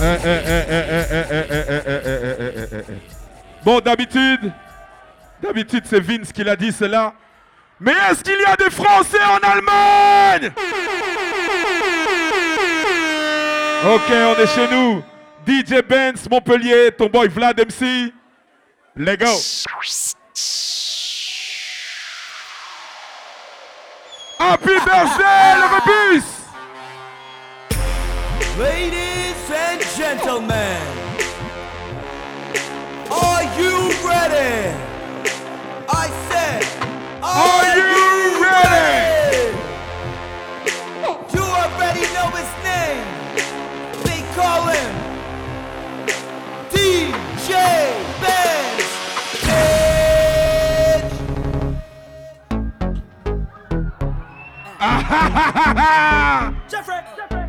Bon, d'habitude, c'est Vince qui l'a dit cela. Mais est-ce qu'il y a des Français en Allemagne? Ok, on est chez nous. DJ Benz, Montpellier, ton boy Vlad MC. Let's go. Happy birthday, le rebus. Ladies and gentlemen, are you ready? I said, are you ready? You already know his name. They call him DJ Benz. Jeffrey.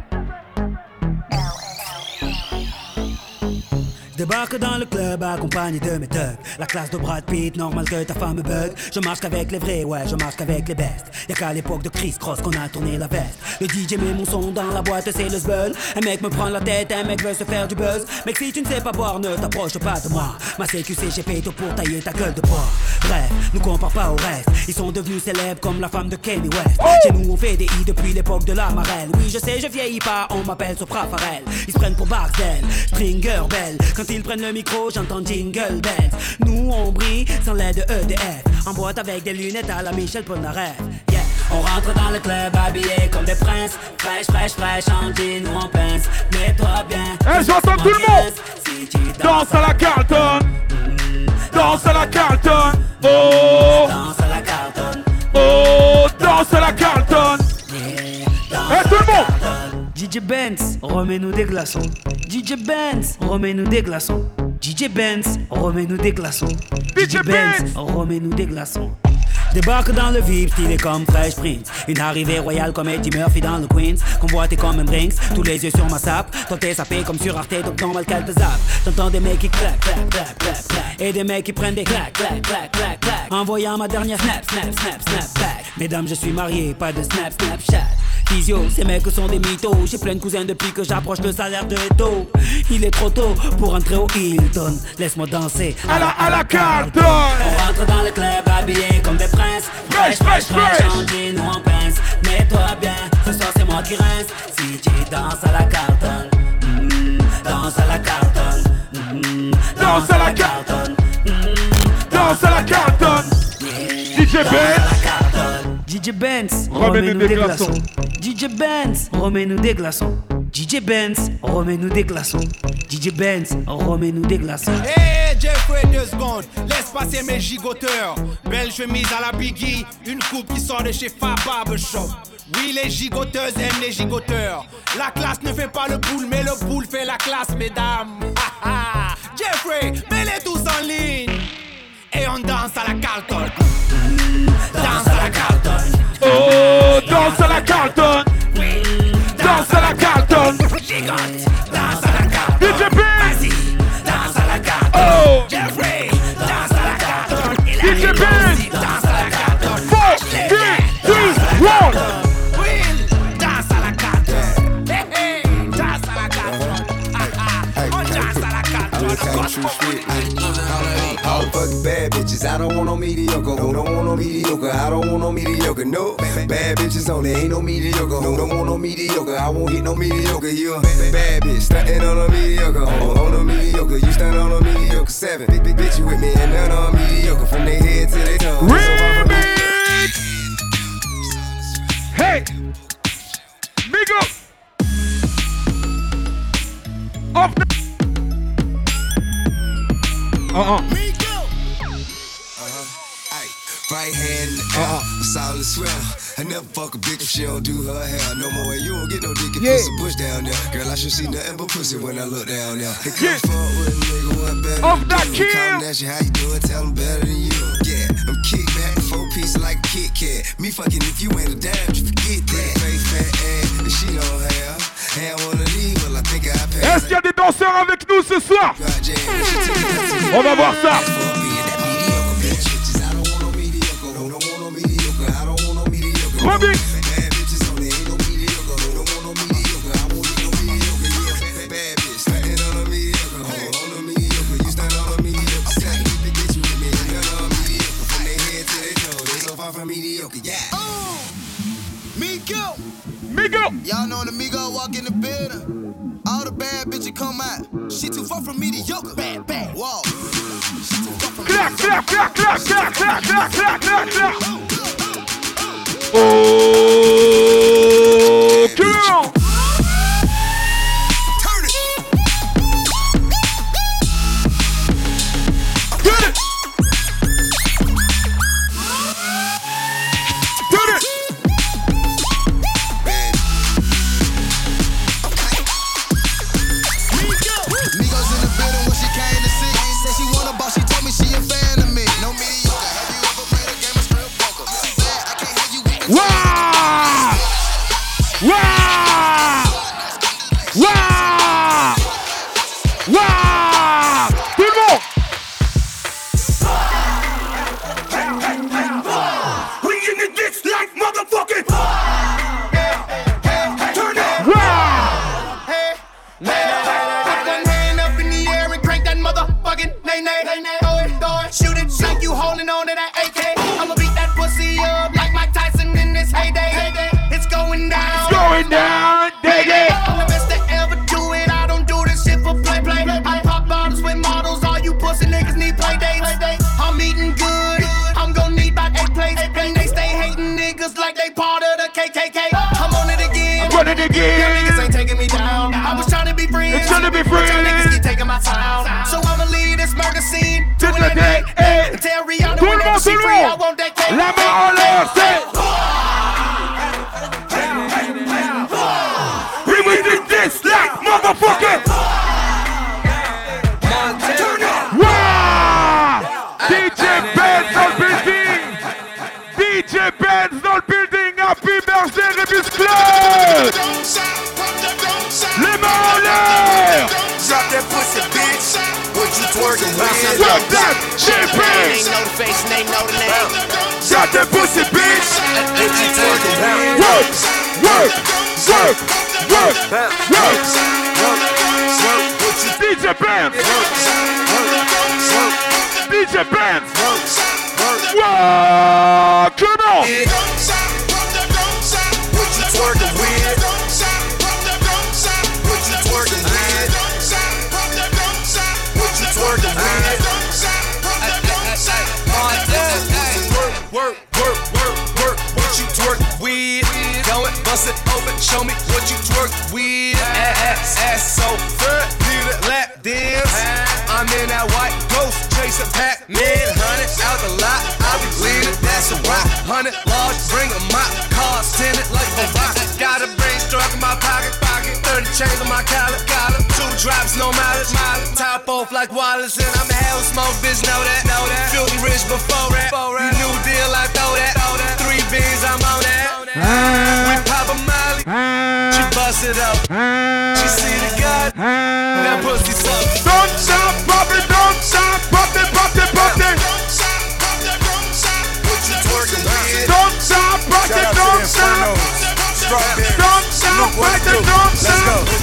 Je débarque dans le club accompagné de mes thugs. La classe de Brad Pitt, normal que ta femme me bug. Je marche qu'avec les vrais, ouais, je marche qu'avec les bestes. Y'a qu'à l'époque de Chris Cross qu'on a tourné la veste. Le DJ met mon son dans la boîte, c'est le zbeul. Un mec me prend la tête, un mec veut se faire du buzz. Mec, si tu ne sais pas boire, ne t'approche pas de moi. Ma CQC, j'ai fait tout pour tailler ta gueule de bois. Bref, nous compare pas au reste. Ils sont devenus célèbres comme la femme de Kanye West. Chez nous, on fait des i depuis l'époque de la marelle. Oui, je sais, je vieillis pas, on m'appelle Sopra Farel. Ils se prennent pour Barcel, Stringer Bell. Quand ils prennent le micro, j'entends Jingle Bells. Nous, on brille sans l'aide de EDF. En boîte avec des lunettes à la Michel Polnareff. Yeah. On rentre dans le club habillé comme des princes. Fraîche, fraîche, fraîche, en jean ou en pince. Mets-toi bien. Eh, j'entends tout le monde. Si tu danse à la Carlton. Danse à la Carlton. Oh. Danse à la Carlton. Oh, danse à la Carlton. Yeah. Eh, tout le monde. DJ Benz, remets-nous des glaçons. DJ Benz, remets-nous des glaçons. DJ Benz, remets-nous des glaçons. DJ Benz, remets-nous des glaçons. Débarque dans le VIP, stylé comme Fresh Prince. Une arrivée royale comme Eddie Murphy dans le Queens. Convoité comme un Brinks, tous les yeux sur ma sape. Toi t'es sapé comme sur Arte, donc normal qu'elle te zappe. T'entends des mecs qui claquent, claquent, claquent, claquent, claquent. Et des mecs qui prennent des claques, claques, claques, claques, claques. Envoyant ma dernière snap, snap, snap, snap back. Mesdames, je suis marié, pas de snap, snapchat. Physio, ces mecs sont des mythos. J'ai plein de cousins depuis que j'approche le salaire de Eto. Il est trop tôt pour entrer au Hilton. Laisse-moi danser à la Carlton. On rentre dans le club habillé comme des princes. Fresh, fresh, fresh. En jean ou en pince. Mets-toi bien, ce soir c'est moi qui rince. Si tu danses à la Carlton, danse à la Carlton, danse à la Carlton, danse à la Carlton. DJ Benz, DJ Benz, remets-nous des glaçons. DJ Benz, remets-nous des glaçons. DJ Benz, remets-nous des glaçons. DJ Benz, remets-nous des glaçons. Hey Jeffrey, 2 secondes, laisse passer mes gigoteurs. Belle chemise à la Biggie, une coupe qui sort de chez Fab Barbershop. Oui, les gigoteuses aiment les gigoteurs. La classe ne fait pas le poule, mais le poule fait la classe, mesdames. Jeffrey, mets-les tous en ligne. Et on danse à la Carlton. Danse à la Carlton. Oh, danse à la Carlton. Danse à la Carlton. Gigote, danse à la Carlton. DJ Benz, vas-y, danse à la Carlton. oh, Jeffrey, danse à la Carlton. DJ Benz, danse à la Carlton. 4, 3, 2, 1. Will, danse à la Carlton. Hey, hey, danse à la Carlton. On danse à la Carlton. All fucking bad bitches, I don't want no mediocre. Don't want no mediocre, I don't want no mediocre. No, bad bitches only, ain't no mediocre. Don't want no mediocre, I won't hit no mediocre. You a bad bitch, stuntin' on a mediocre. On a mediocre, you stunt on a mediocre. 7, big bitch, you with me and none on mediocre. From their head to their toe. Remix. Hey, big up. Off the Right hand in the air, solid swell. I never fuck a bitch if she don't do her hair no more. And you don't get no dick if it's a bush down there. Girl, I should see nothing but pussy when I look down there. They come forward with a nigga, what better Off than that you? kill. Come at you, how you doing? Tell them better than you. Yeah, I'm kick back, 4 pieces like a Kit Kat. Me fucking if you ain't a dime, you forget that. Face fat ass, and she don't have. And I wanna leave, well I think I pass. Est-ce qu'il y a des danseurs avec nous ce soir? On va voir ça. Remix. bad bitch and come out. She too far from mediocre. Bad, bad. Whoa. She too far from Clap, clap, clap, clap, clap, clap, clap, clap, clap, clap. Oh, girl. Turn it. Get it. Get it. Migos in the building when she came to see. Said she want a boss, she told me she a fan of me. No mediocre. Have you ever played a game of strip poker? You too bad, I can't hear you. Wah! Wah! Wah! Wah! Tout le monde! We in the ditch like motherfucking. Turn it. Wah! Put one hand up in the air and crank that motherfucking nay-nay. Throw it, shoot it like you holding on to that AK. I'ma beat that pussy up like Mike Tyson in this heyday. It's going down. Going down, dig it! I'm the best to ever do it. I don't do this shit for play. I pop bottles with models. All you pussy niggas need play dates. I'm eating good. I'm gon' need about 8 plates. And they stay hating niggas like they part of the KKK. I'm on it again. Run it Y'all again! niggas ain't taking me down. I was trying to be friends. It's trying to be But y'all friends. niggas keep taking my time. So I'ma leave this murder scene. Do Just it like like that, eh. that. Tell Rihanna Tout le whenever monde, she tout le free, I monde. want that cake. La main en l'air, c'est... We will do this like motherfucker! Wah! DJ Benz dans le building! DJ Benz dans le building! Happy birthday, Rebus Club! Les mains en l'air! Drop that pussy, bitch. What you twerking with? Drop that shit, bitch! know the face and they know the name. Drop that pussy, bitch! What you twerking with? Work! Work! Work! Work! Work! DJ Benz! DJ Benz! Wow! Come on! What you twerking with? What you twerking with? What you twerking with? Work, what you twerk with? Go and bust it open, show me what you twerk with. Ass so good, need a lap dance. I'm in that white ghost, chasing Pac-Man. 100 out the lot, I'll be leaning, that's a rock. 100 large, bring a mop, cars tinted like a rock. Got a brain struck in my pocket, 30 chains on my collar, 2 drops, no mileage, top off like Wallace, and I'm a hell smoke, bitch, know that. Filthy rich before that, you new deal, I throw that. 3 beans, I'm on that. We pop a molly, she bust it up, she see the God, that pussy suck. Don't stop, pop it, don't stop, pop it, pop it, pop it. What you twerking with? Don't stop, pop it, don't stop. Strawberry. Don't stop, pop it, don't Let's go. stop.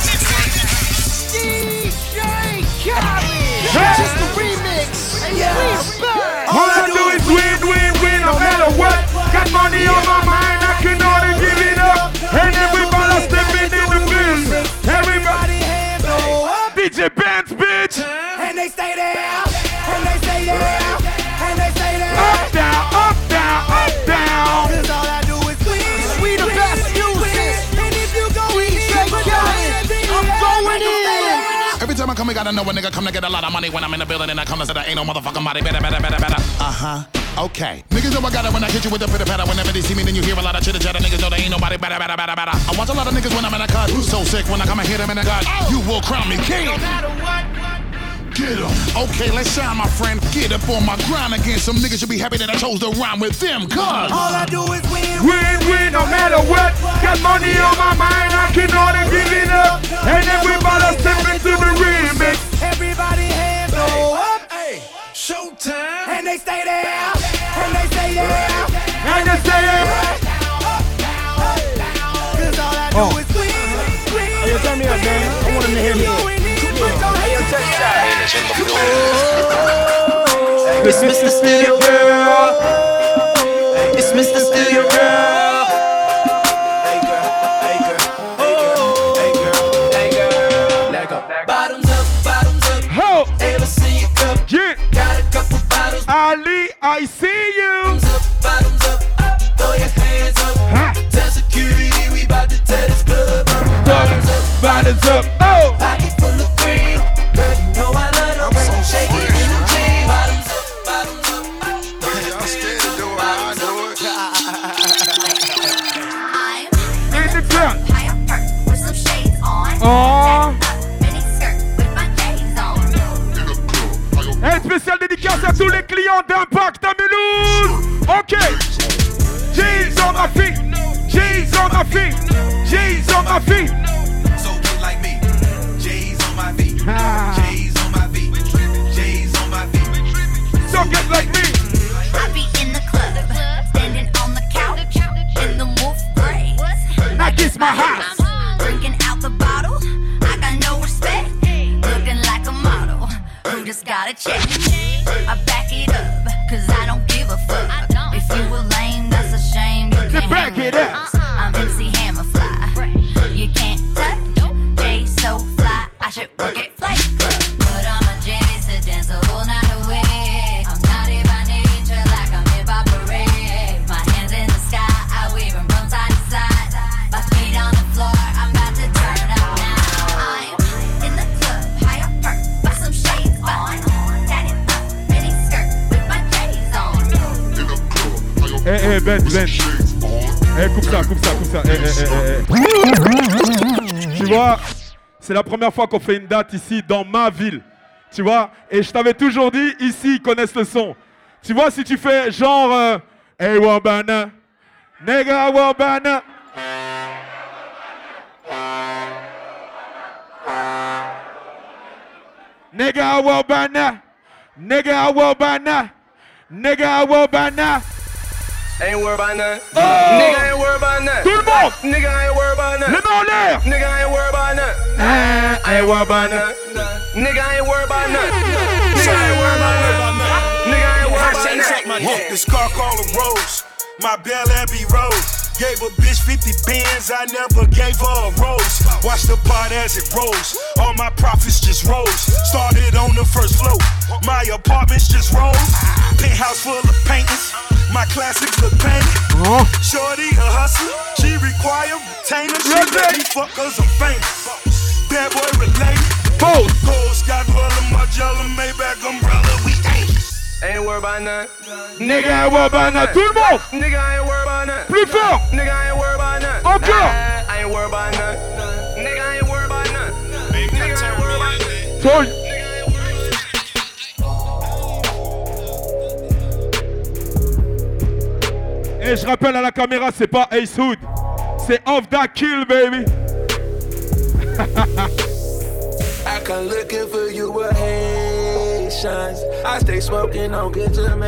Just the remix. All I do is win, win, win, no matter what. Got money on my mind, I can only give it up. And everybody stepping in the building. Everybody hands up. DJ Benz, bitch. And they stay there, and they stay there, and they stay there. Up, down, up, down, up, down. Cause all I do is win. We the best music. And if you go straight I'm going in. Every time I come, I gotta know a nigga come to get a lot of money. When I'm in the building and I come to say there ain't no motherfucking body. Better. Okay. Niggas know I got it when I hit you with the pitter patter. Whenever they see me, then you hear a lot of chitter chatter. Niggas know there ain't nobody better. I watch a lot of niggas when I'm in a cut. So sick when I come and hit them in the gut. You will crown me king. No matter what. Get 'em. Okay, let's shine, my friend. Get up on my grind again. Some niggas should be happy that I chose to rhyme with them. Cause All I do is win. Win, win, no matter what. Got money on my mind, I can only give it up. And everybody step into the remix. Everybody hands go up. Hey, showtime. And they stay there, and they stay there. And they say, Cause all I do is win. Hey, turn me up, man. I want him to hear me. It's Mr. Studio Girl. It's Mr. Studio Girl. Hey girl, hey girl, hey girl, hey girl, hey girl. Let go. I see you. Bottoms up, throw your hands up. Tell security we about to tear this club up. Bottoms up, oh. Pocket full of cream. Girl, you know I love them. So shake it in the jeans. Bottoms up, bottoms up. I'm scared to do it, I know it. In the club. High up perk with some shades on. Oh. Mini skirt with my J's on. Un spécial dédicace à tous les clients d'Impact à Mulhouse. Ok. G's on ma fille. G's on ma fille. G's on ma fille. So get like me. J's on my feet. J's on my feet. J's on my feet. So get like me. I be in the club, standing on the couch, in the wolf gray. Now kiss my house. Drinking out the bottle, I got no respect. Looking like a model, who just got a check. I back it up, cause I don't give a fuck. If you were lame, that's a shame. You can't back it up. I'm MC Hammerfly. You can't touch, Jay so fly. I should work at Flight Club. But I'm a Jay to dance the whole night away. I'm naughty by nature, like I'm hip hop parade. My hands in the sky, I wave them from side to side. My feet on the floor, I'm about to turn up now. I'm in the club, high up perk, with some shades on. Tatted up, mini skirt with my J's on. Eh, Ben. Eh, coupe ça. Tu vois, c'est la première fois qu'on fait une date ici dans ma ville. Tu vois, et je t'avais toujours dit, ici, ils connaissent le son. Tu vois, si tu fais genre, hey, Wabana, nigga, Wabana. Nigga, Wabana. Nigga, Wabana. Nigga, Wabana. Ain't worried about nothing. Oh. Nigga ain't worried about nothing. Tout le monde. Nigga ain't worried about nothing. Les mains en l'air. Nigga ain't worried about nothing. I ain't worried about nothing. Nigga ain't worried about nothing. Nigga ain't worried about nothing. Nigga ain't worried about nothing. This car called a Rose, my Bel Abbey Rose. Gave a bitch 50 bands, I never gave her a rose. Watch the pot as it rolls, all my profits just rose. Started on the first floor, my apartments just rose. Penthouse full of paintings, my classics look painted. Shorty a hustler, she require retainer. She let me fuck cause I'm famous. Bad boy related. Gold Scott Roller, Margiela, Maybach umbrella, we dangerous. Ain't worried about nothing. Nigga ain't worried about nothing. Tout le monde. Nigga ain't worried about nothing. Plus fort. Nigga ain't worried about nothing. Encore. I ain't worried about nothing. Nigga ain't worried about nothing. Nigga ain't worried about nothing. Toy. Et je rappelle à la caméra, c'est pas Ace Hood, c'est Off That Kill, baby. I come looking for you with Haitians. I stay smoking on good Jamaican.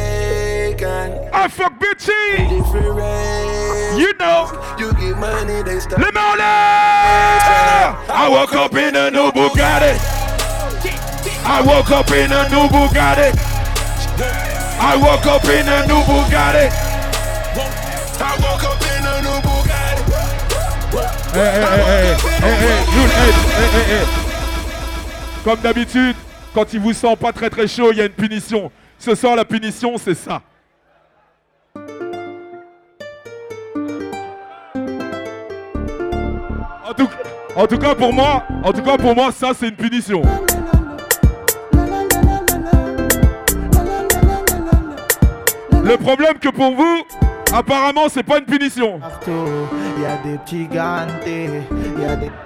I fuck bitchy. Different race. You know. You get money, they stop. Les mains en l'air. I woke up in a new Bugatti. I woke up in a new Bugatti. I woke up in a new Bugatti. I woke up in a new Bugatti. Hey. Comme d'habitude, quand il vous sent pas très très chaud, il y a une punition. Ce soir, la punition, c'est ça. En tout cas pour moi, ça c'est une punition. Le problème que pour vous, apparemment, c'est pas une punition. Il y a des petits gantés, il y a des...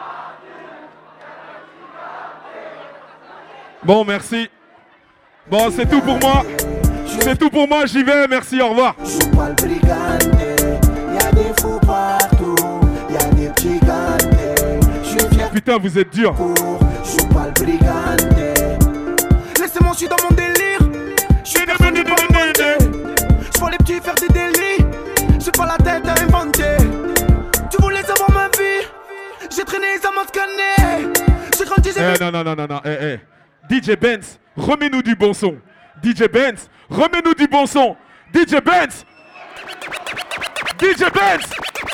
Bon, merci. Bon, c'est tout pour moi. C'est tout pour moi, j'y vais, merci, au revoir. Je suis pas le brigandé, il y a des fous partout, il y a des petits gantés. Je suis fier. Putain, vous êtes dur. Je suis pas le brigandé. Laissez-moi, je suis dans mon délire. Je suis personne n'est pas monté. Je vois les petits faire des délits. J'ai pas la tête à inventer. Tu voulais savoir ma vie. J'ai traîné, ça m'a scanné. J'ai grandi, j'ai... Non. DJ Benz, remets-nous du bon son. DJ Benz, remets-nous du bon son. DJ Benz. DJ Benz.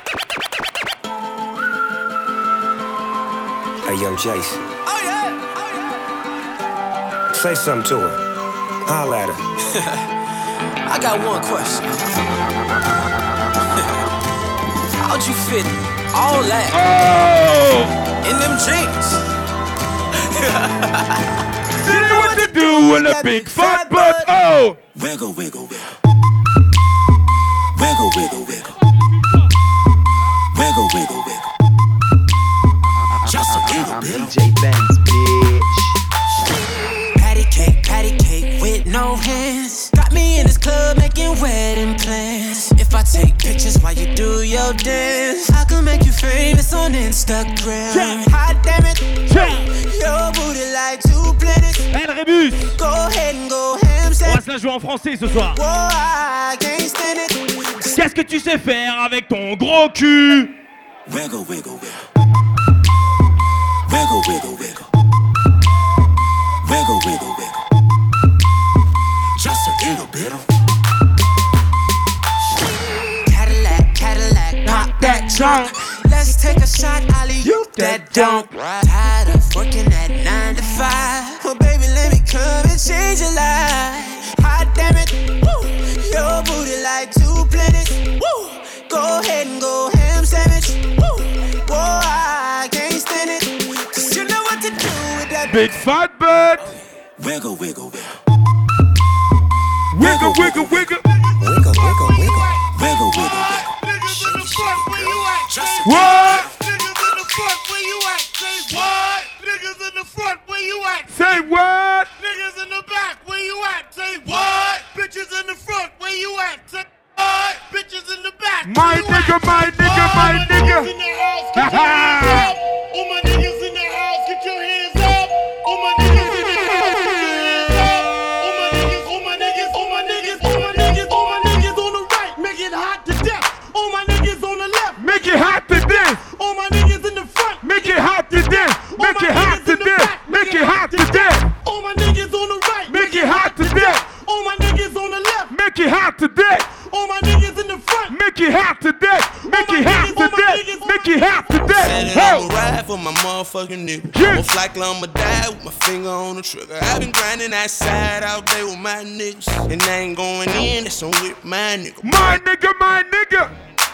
Hey, yo, Jason. Oh, yeah. Say something to her. Holla at her. I got one question. How'd you fit all that in them jeans? You know what to do with a big fat butt. Oh! Wiggle, wiggle, wiggle. Wiggle, wiggle, wiggle. Wiggle, wiggle, wiggle. Just a little bit. DJ Benz, bitch. Patty cake with no hands. Got me in this club making wedding plans. If I take pictures while you do your dance, I can make you famous on Instagram. Hot damn it, your booty like two planets. Hey, le Rébus! Go ahead and go ham. On va se la jouer en français ce soir. Whoa, I can't stand it. Qu'est-ce que tu sais faire avec ton gros cul? Wiggle, wiggle, wiggle. Wiggle, wiggle, wiggle. Wiggle, wiggle, wiggle. Just a little bit of Cadillac, knock that trunk. Let's take a shot, alley-oop that dunk. Tired of working at 9 to 5. Well, baby, let me come and change your life. Hot damn it, woo. Your booty like two planets. Woo. Go ahead and go ham sandwich. Woo. Whoa, I can't stand it. Cause you know what to do with that big fat butt. Wiggle, wiggle, wiggle. Wiggle, wiggle, wiggle. Wiggle, wiggle, wiggle. Wiggle, wiggle, wiggle. Niggas in the front, where you at? What? Niggas in the front, where you at? Say what? Niggas in the front, where you at? Say what? Niggas in the back, where you at? Say what? Bitches in the front, where you at? Say what? Bitches in the back. My nigga, my nigga, my nigga. All my niggas in the house, get your hands up. All my niggas in the house, get your hands up. All my niggas, all my niggas, all my niggas, all my niggas, all my niggas on the right, make it hot to death. All my niggas on the left, make it hot to death. All my niggas in the front, make it hot to death. Make it hot to death. Make it hot to death. All my niggas on the right, make it hot to death. All my niggas on the left, make it hot to death. All my niggas in the front, make it hot to death. Make it hot to death. Make it hot to death. I'ma ride for my motherfucking nigga. Most likely I'ma die with my finger on the trigger. I've been grinding that side all day with my niggas, and I ain't going in, that's on with my nigga. My nigga, my nigga.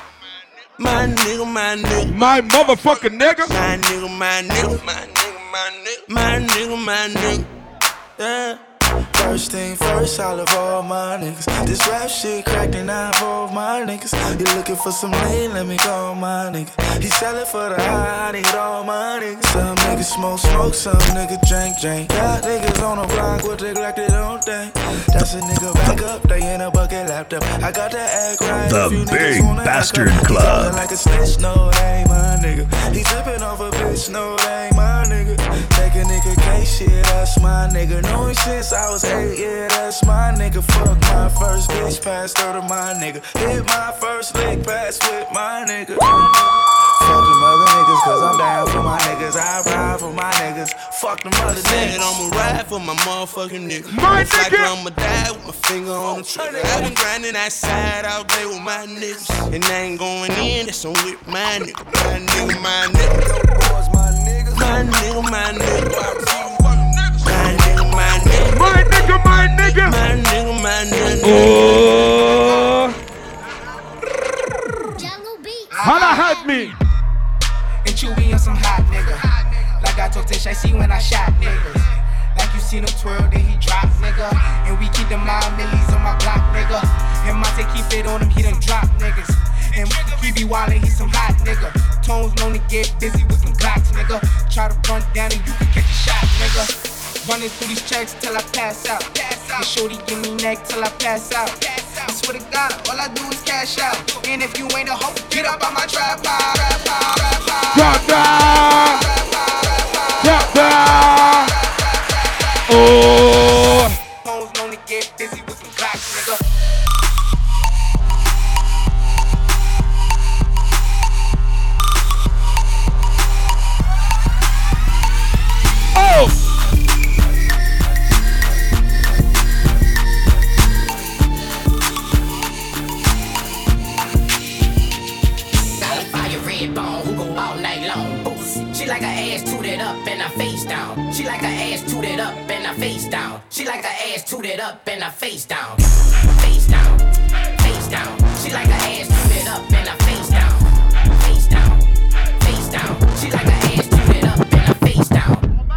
My nigga, my nigga. My motherfucking nigga. My nigga, my nigga. My nigga, my nigga. My nigga, my nigga. Yeah. First thing first, I love all my niggas. This rap shit cracked and I involve my niggas. You looking for some lean, let me call my nigga. He sellin' for the high, I need all my niggas. Some niggas smoke, some niggas drink. Got niggas on the block with they like they don't think. That's a nigga back up, they in a bucket laptop. I got to act right. The Big Bastard Club. Like a snitch, no, they ain't my nigga. He trippin' off a bitch, no, they ain't my nigga. Take a nigga case, shit, that's my nigga. Know him since I was 8, yeah, that's my nigga. Fuck my first bitch, passed her to my nigga. Hit my first lick, pass with my nigga. Fuck them other niggas, cause I'm down for my niggas. I ride for my niggas. Fuck them other niggas. I'ma ride for my motherfucking nigga. My nigga. Like I'ma die with my finger on the trigger. I've been grinding that side all day with my niggas, and I ain't going in, that's on with my nigga. My nigga, my nigga. My nigga, my nigga. My nigga, my nigga. My nigga, my nigga. Oh. Holla at me. And Chewy and some hot nigga. Like I told Tish, I see when I shot niggas. Like you seen him twirl, then he drop, nigga. And we keep them 9 millies on my block, nigga. And Monte keep it on him, he done drop niggas. And he be wildin', he some hot nigga. Tones known to get busy with some Glocks, nigga. Try to run down and you can catch a shot, nigga. Running through these checks till I pass out. And shorty give me neck till I pass out. I swear to God, all I do is cash out. And if you ain't a hoe, get up on my trap pile. Drop down. Drop down. Oh. Hoes known to get busy with some Glocks, nigga. Oh. She like a down. She like her ass tooted up and her face down. She like her ass tooted up and her face down. Face down, face down. She like her ass tooted up and her face down. Face down, face down. She like her ass tooted up and her face down.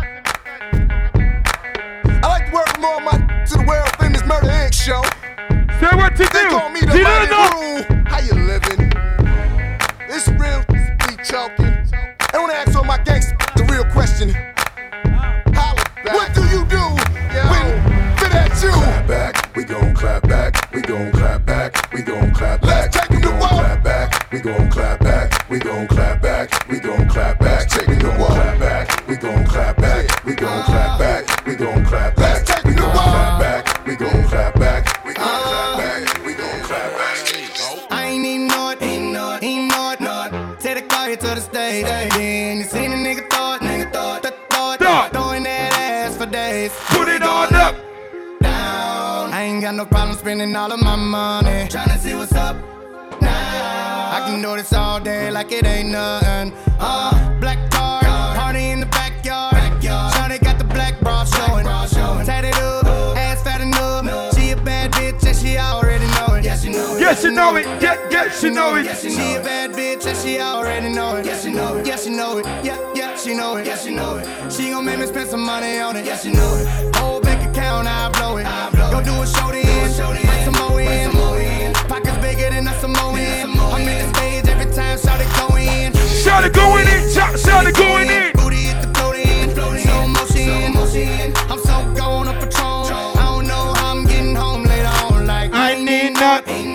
I like to work more my to the world famous Murder Inc. show. Say what to they do. call me the Mighty Rule. How you living? It's real, be choking. I wanna ask all my gangsters the real question. Holla back. What do you do when fit at you? Clap back, we gon' clap back, we gon' clap back, we gon' clap back. Let's take it to war. Clap back, we gon' clap back, we gon' clap back, we gon' clap back. Take We it to gon' war. clap back, we gon' clap back, we gon' clap back, we gon' clap back. Let's take We it to gon' war. clap back, we gon' clap back, we gon' clap back, we gon' clap back. I ain't even know it, ain't know it. Take the car here to the stage. Then you seen a nigga thought, throwing that ass for days. Put it on up. Down. I ain't got no problem spending all of my money. Tryna see what's up now. I can do this all day like it ain't nothing. Black car, party in the backyard. Shawty got the black bra showing. Tatted up, ass fat enough. She a bad bitch and she already know it. Yes, she know it. Yes, you know it. Yes, you know it. She a bad bitch and she already know it. Yes, she know it. Yes, she know it. Yeah, she know it. Yes, she know it. She gon' make me spend some money on it. Yes, she know it. Whole bank account, I blow it. Go do a show then, bring some more in. Pockets bigger than a Samoan. I'm in the stage every time, shout it go in. Shout it going in. Shout it going in. Booty hit the floating, slow motion. I'm so gone up Patron. I don't know how I'm getting home later on. Like I need nothing.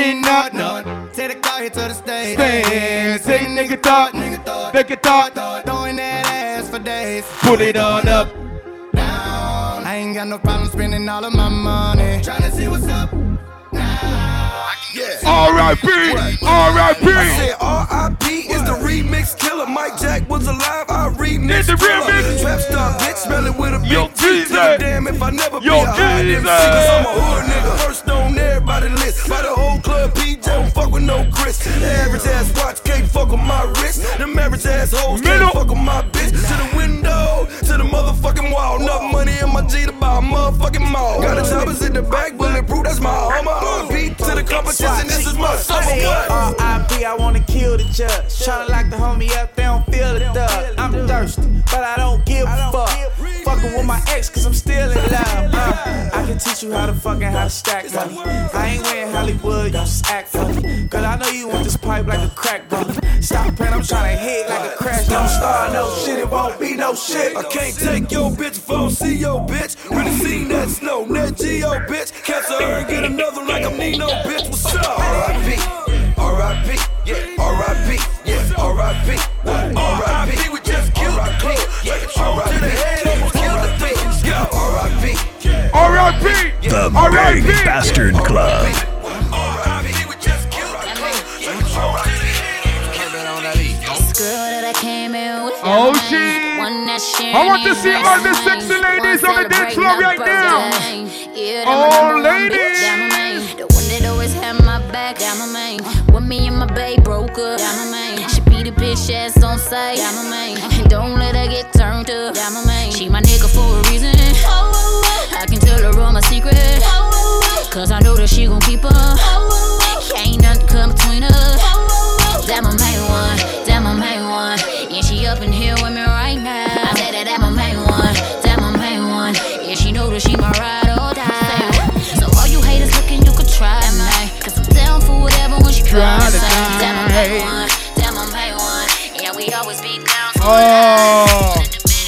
Take the car here to the stage. Say nigga thought. Throwing that ass for days. Put it on up. Down. I ain't got no problem spending all of my money. Tryna see what's up now. R.I.P. I said R.I.P. is the remix killer. Mike Jack was alive. I remixed It's the remix. Trap star bitch, smell it with a Yo, big T. Jesus. Damn if I never be Yo, a high MC. Jesus. Cause I'm a hood nigga. First on everybody list. By the whole club, PJ don't fuck with no Chris. The average ass watch can't fuck with my wrist. Them average ass hoes can't fuck with my bitch. To the window, to the motherfucking wall. Enough money in my G to buy a motherfucking mall. Got the choppers in the back, bulletproof, that's my armor. R.I.P. to the competition, this is my summer. R.I.P. I wanna kill the judge. Tryna lock the homie up, they don't feel the thug. I'm thirsty, but I don't give a fuck. Fucking with my ex, cause I'm still in love. I can teach you how to stack money. I ain't wearing Hollywood, you just act funny. Cause I know you want this pipe like a crack brother. Stop playing, I'm tryna hit like a crash. Don't start no shit, it won't be no shit. I can't take your bitch if I don't see your bitch. Really seen that snow, that G.O. bitch. Cancel her and get another like I'm Nino, bitch. What's up? R.I.P. R.I.P. Yeah, R.I.P. Yeah, R.I.P. R.I.P. We just killed the club. R.I.P. to the head, almost killed the bitch. Yo, R.I.P. R.I.P. The Big Bastard Club. R.I.P. We just killed the club. Oh, shit. I want to see all the sexy ladies on the dance floor right now. Oh, ladies. The one that always had my back, down my main. When me and my babe broke up, down my main. She beat a bitch ass on sight, down my main. And don't let her get turned up, down my main. She my nigga for a reason. I can tell her all my secrets, cause I know that she gon' keep up. Ain't nothing come between us. That my main one, that my main one. Yeah, she up in here with me right now. I said that my main one, that my main one. Yeah, she know that she my ride or die. So all you haters looking, you could try me. Cause I'm down for whatever when she try to die. That my main one, that my main one. Yeah, we always be down for Oh.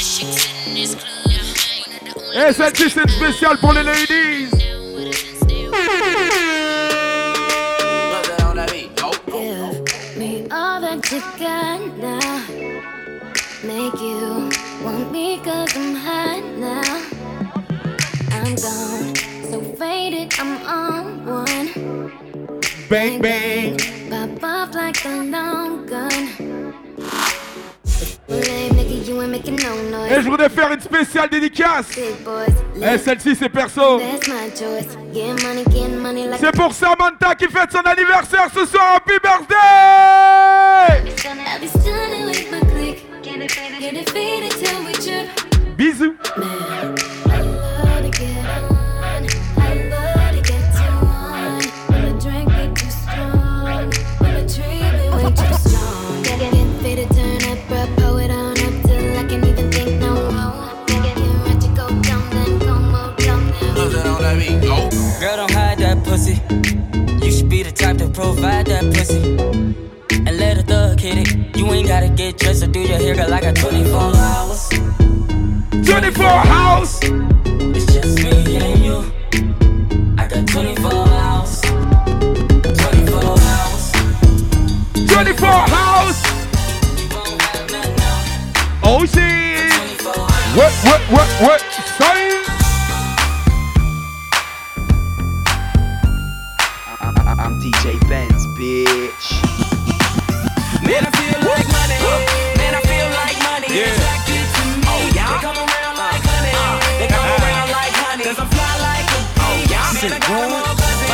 Et celle-ci c'est spécial pour les ladies. Give me all that you got now. Make you want me cause I'm hot now. I'm gone, so faded, I'm on one. Bang bang. Pop off like a long gun. Hey, nigga, you ain't making no noise. Et je voudrais faire une spéciale dédicace. Big boys, Et celle-ci c'est perso. that's my choice. Getting money like C'est pour Samantha qui fête son anniversaire ce soir. Happy birthday! I be stunning with my click. Get it faded till we trip. Bisous. Girl, don't hide that pussy. You should be the type to provide that pussy. And let a thug hit it. You ain't gotta get dressed or do your hair, girl. I got 24 hours. 24 hours. It's just me and you. I got 24 hours. 24 hours. 24 hours. Oh shit. What? Sorry. I'm DJ Benz, bitch. Man, I feel like money. Man, I feel like money. Yeah. Attracted to me. Oh, yeah. They come around like honey. They come around like honey. Cause I fly like a bee. Yeah. Man, I got them all buzzing.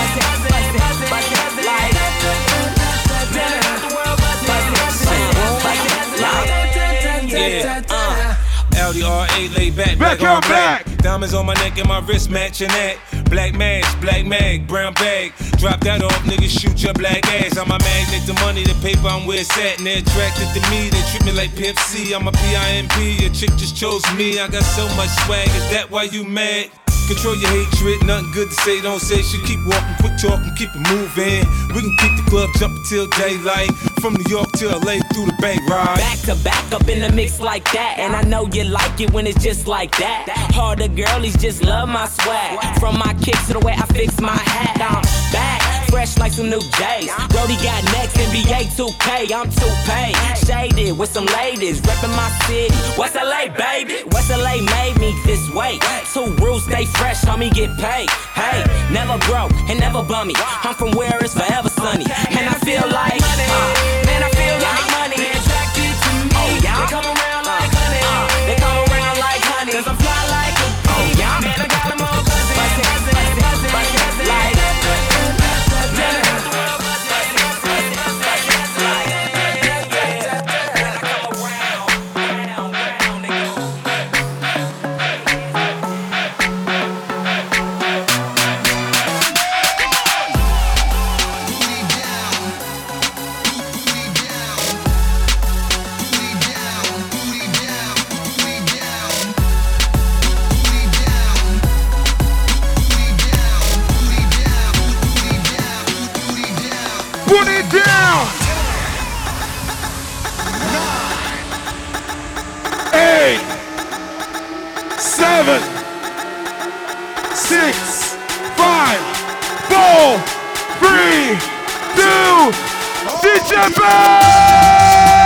LDRA laid back on black. Diamonds on my neck and my wrist matching that. Black mask, black mag, brown bag. Drop that off, niggas shoot your black ass. I'm a magnet, the money, the paper, I'm where it's at. And they're attracted to me, they treat me like Pimp C. I'm a PIMP, your chick just chose me. I got so much swag, is that why you mad? Control your hatred, nothing good to say, don't say shit. Keep walking, quit talking, keep it moving. We can keep the club jumping till daylight. From New York to LA through the Bay ride. Back to back up in the mix like that. And I know you like it when it's just like that. Harder girlies just love my swag. From my kicks to the way I fix my hat. I'm back, fresh like some new J's. Brody got next, NBA 2K, I'm 2Pay. Shaded with some ladies, reppin' my city. West LA, baby. West LA made me this way. 2 rules, stay fresh, homie, get paid. Hey, never broke and never bummy. I'm from where it's forever sunny. And I feel like money. Man, I feel like money. They attracted to me. Oh, yeah. They come around like honey. They come around like honey. Cause I fly like a bee. Oh, yeah. Man, I got them all buzzing. Put it down. 8, 7, 6, 5, 4, 3, 2, DJ Ben!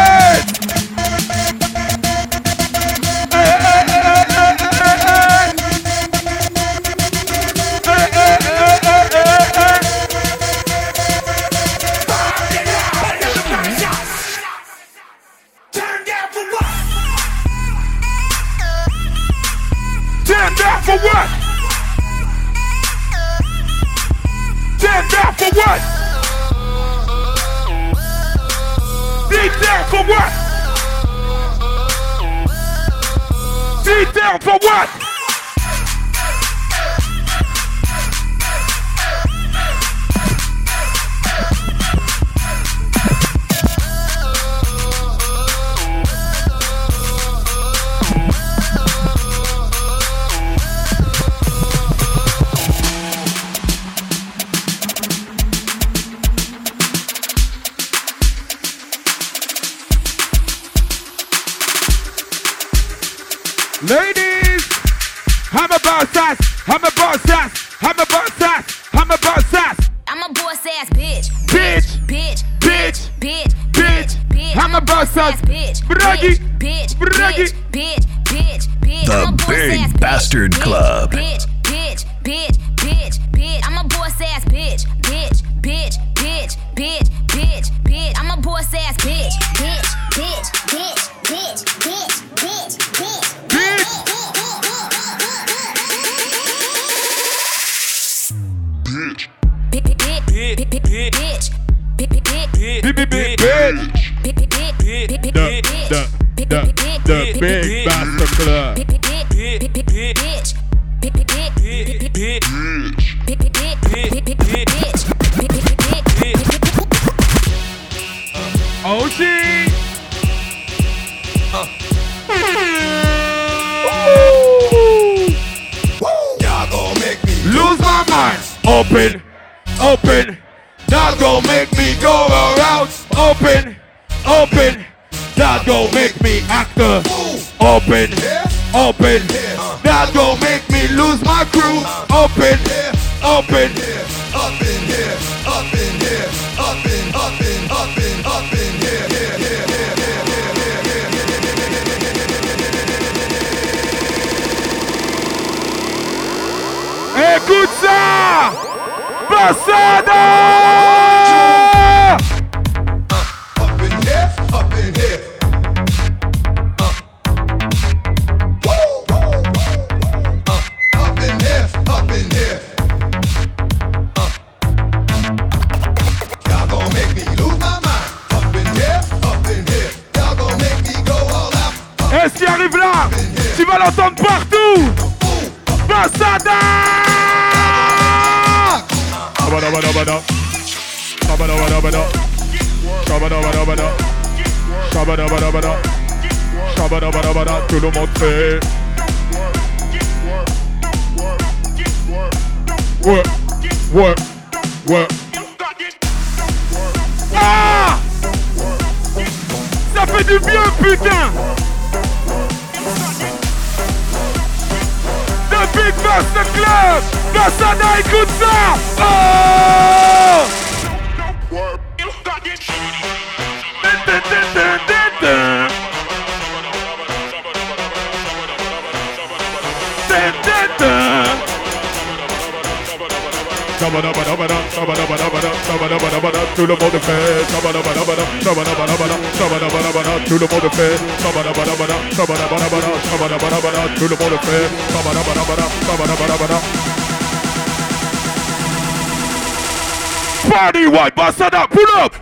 For what? Stand down for what? Sit down for what? Sit down for what? Ladies, I'm a boss ass, I'm a boss ass, I'm a boss ass, I'm a boss ass. I'm a boss ass bitch. Bitch, bitch, bitch, bitch, bitch, bitch. I'm a boss ass bitch. Braggy, bitch, braggy. bitch, bitch, bitch. The Big Bastard Club. Bitch, bitch, bitch, bitch, bitch. I'm a boss ass bitch. Bitch, bitch, bitch, bitch, bitch, bitch. I'm a boss ass bitch. Bitch, bitch, bitch, bitch, bitch, bitch, bitch. The Big Bastard club. Oh shit! Y'all gon' make me lose my mind. Open, open. That gon' make me go around. Open, open. That gon' make me actor. Open, open. That gon' make me lose my crew. Open, open. up in here, up in here, up in, up in, up in, up in here, here, here, here, here, here, here, here. Écoute ça! Passada! Up in here, up in here. Up in here, up in here. Y'all gon' make me lose my mind. Up in here, up in here. Y'all gon' make me go all out. Et ce qui arrive là, tu vas l'entendre partout! Passada! Tout le monde fait. Ouais, ouais, ouais. Ah! Ça fait du bien, putain! The Big Master Club! Passada, écoute ça! Oh! Tout le monde fait, tout le monde fait, tout le monde fait. Party white, Passada, pull up!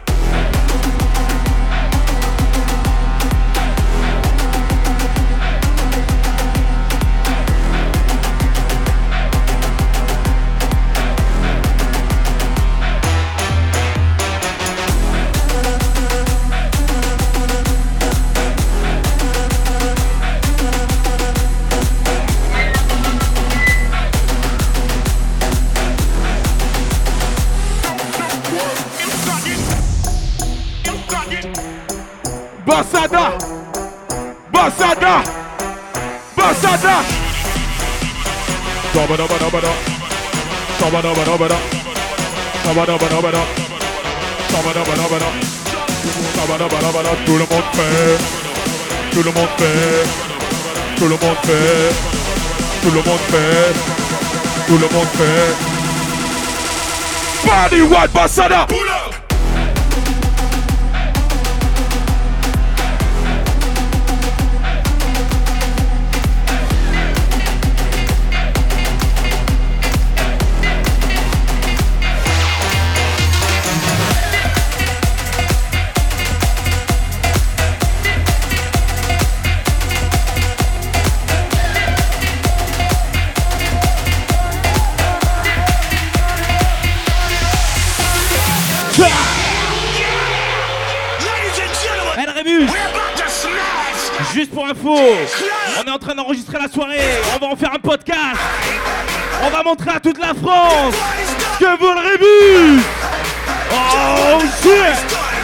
Passada! Passada! Passada! Tout le monde fait, tout le monde fait, tout le monde fait, tout le monde fait, tout le monde fait. Party white Passada! Juste pour info, on est en train d'enregistrer la soirée, on va en faire un podcast. On va montrer à toute la France que vous le rébus. Oh shit.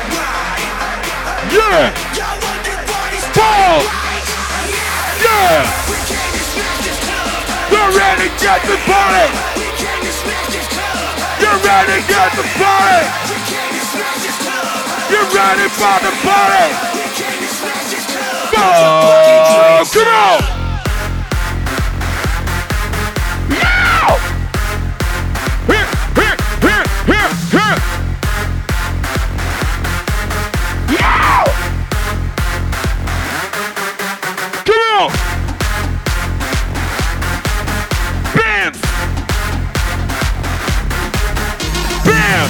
Yeah. Paul. Yeah. You're ready to get the party. You're ready to get the party. You're ready for the party. Oh, come on! Now! Here, here, here, here, here! Now! Come on! Bam! Bam!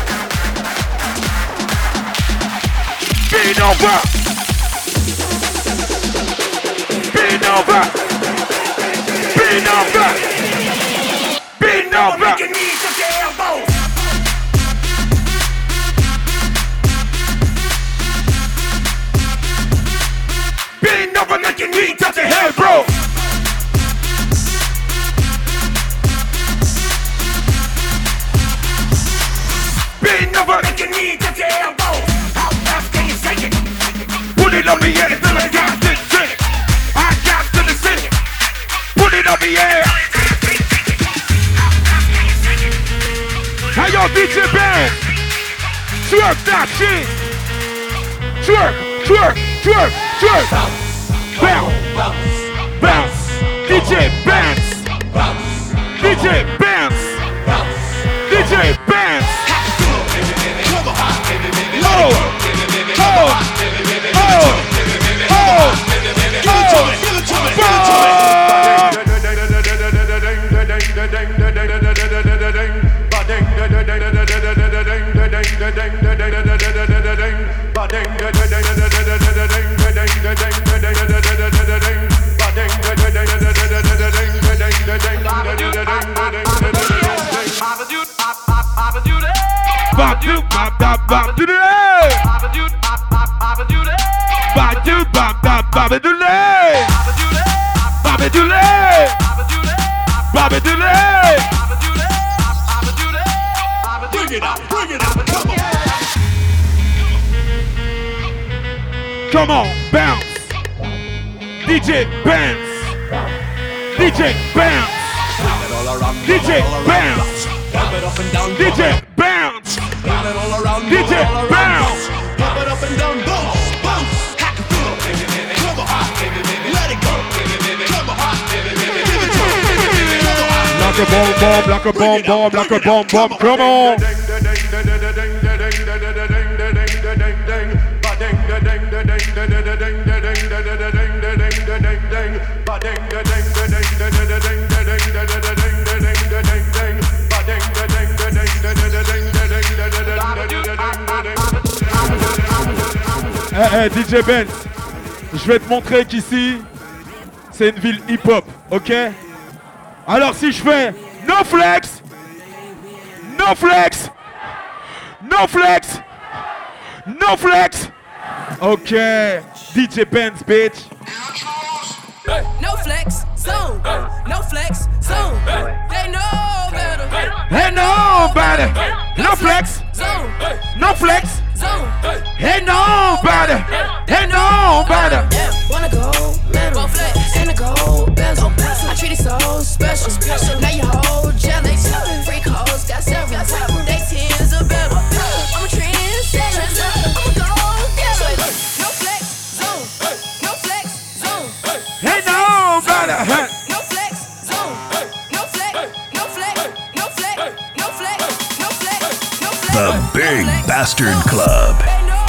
Beat over! over. Bend over. Bend over. Make your knees touch your elbows. Bend over, make your knees touch your head, bro. Bend over, make your knees touch your elbows. How fast can you shake it? Put it on the air until I got to the city. I got to the city. Put it on the air. How y'all DJ band? Twerk that shit. Twerk, twerk, twerk, twerk. Bounce, bounce, bounce. DJ bounce. DJ bounce. DJ bounce. Oh, oh, come on, bounce. DJ bounce. DJ bounce. DJ bounce. DJ bounce. DJ bounce. Pop it up and down, bounce, bounce. Let it go. Come on. Like a bomb bomb, like a bomb bomb, like a bomb bomb. Come on. Hey, DJ Benz, je vais te montrer qu'ici, c'est une ville hip-hop, ok? Alors si je fais no flex, no flex, no flex, no flex, ok, DJ Benz, bitch. No flex, zone, no flex, zone, they know better. Hey, no better, no flex, zone, no flex, zone, hey, no better, hey, no better. Yeah, wanna go metal, and a gold bezel. I treat it so special. Now you hold jealous. Freak hoes got several. They tens are better. I'm a trendsetter. I'm a gold getter. No flex zone. No flex zone. Hey, no better. No flex zone. No flex. No flex. No flex. No flex. No flex. No flex. The Big Bastard Club.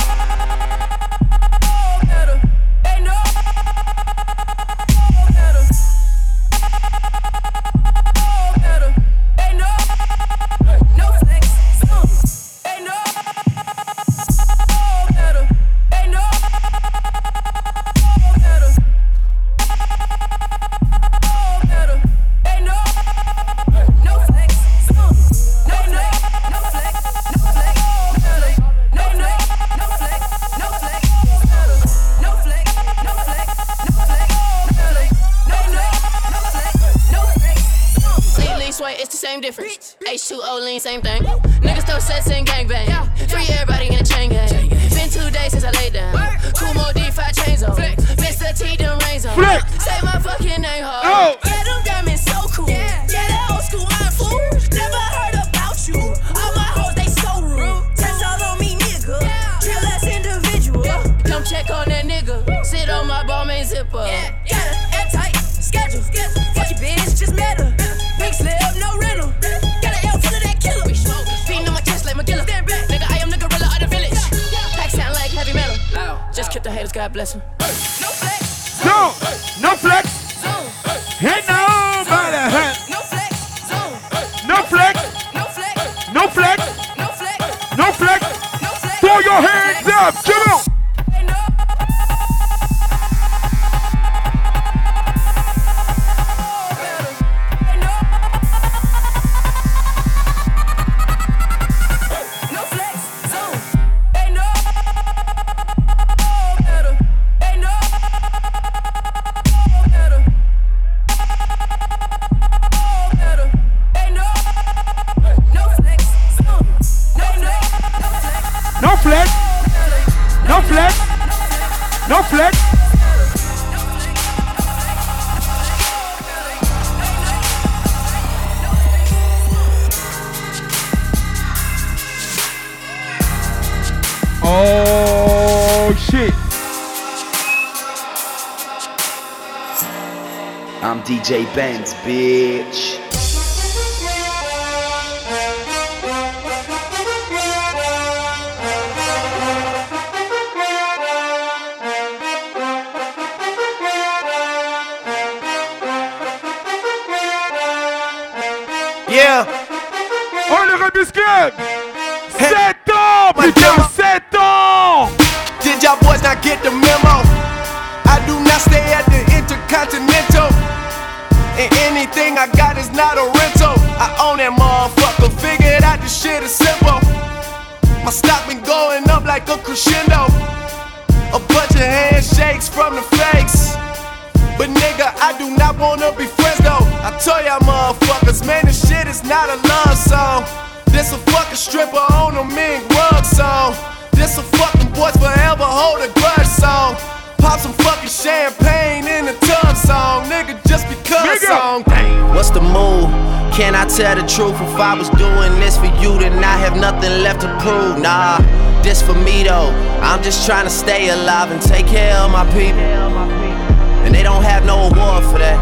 H2O lean, same thing. Niggas throw sets and gangbang. Free everybody in the chain gang. Been 2 days since I laid down. Kumo D5 chains on. Mr. T them rains on. Say my fucking name hard. Yeah, them diamonds so cool. Yeah, that old school iron fool. Never heard about you. All my hoes, they so rude. Test all on me, nigga. Drill ass individual. Come check on that nigga. Sit on my ball main zipper. Got an airtight schedule. Fuck your bitch, just met her. Big slip, no rental. Got an L full of that killer. Beating on my chest like McGilla. Nigga, I am the gorilla of the village. Pack sound like heavy metal. Just keep the haters, God bless them. No flex. No, no flex. Hey, no better. No flex. No flex. No flex. No flex. No flex. No flex. No flex. Throw your hands up. Come on. shit. I'm DJ Benz, bitch. Yeah. Oh, le Rebus Club. 7 ans, putain, 7 ans. Did y'all boys not get the memo? I do not stay at the Intercontinental, and anything I got is not a rental. I own that motherfucker, figured out this shit is simple. My stock been going up like a crescendo. A bunch of handshakes from the fakes, but nigga, I do not wanna be friends though. I tell y'all motherfuckers, man, this shit is not a love song. This a fucking stripper on a mink rug song. This a fucking boys forever hold a grudge song. Pop some fucking champagne in the tub song, nigga, just because song. What's the move? Can I tell the truth? If I was doing this for you, then I have nothing left to prove. Nah, this for me though. I'm just trying to stay alive and take care of my people. And they don't have no award for that.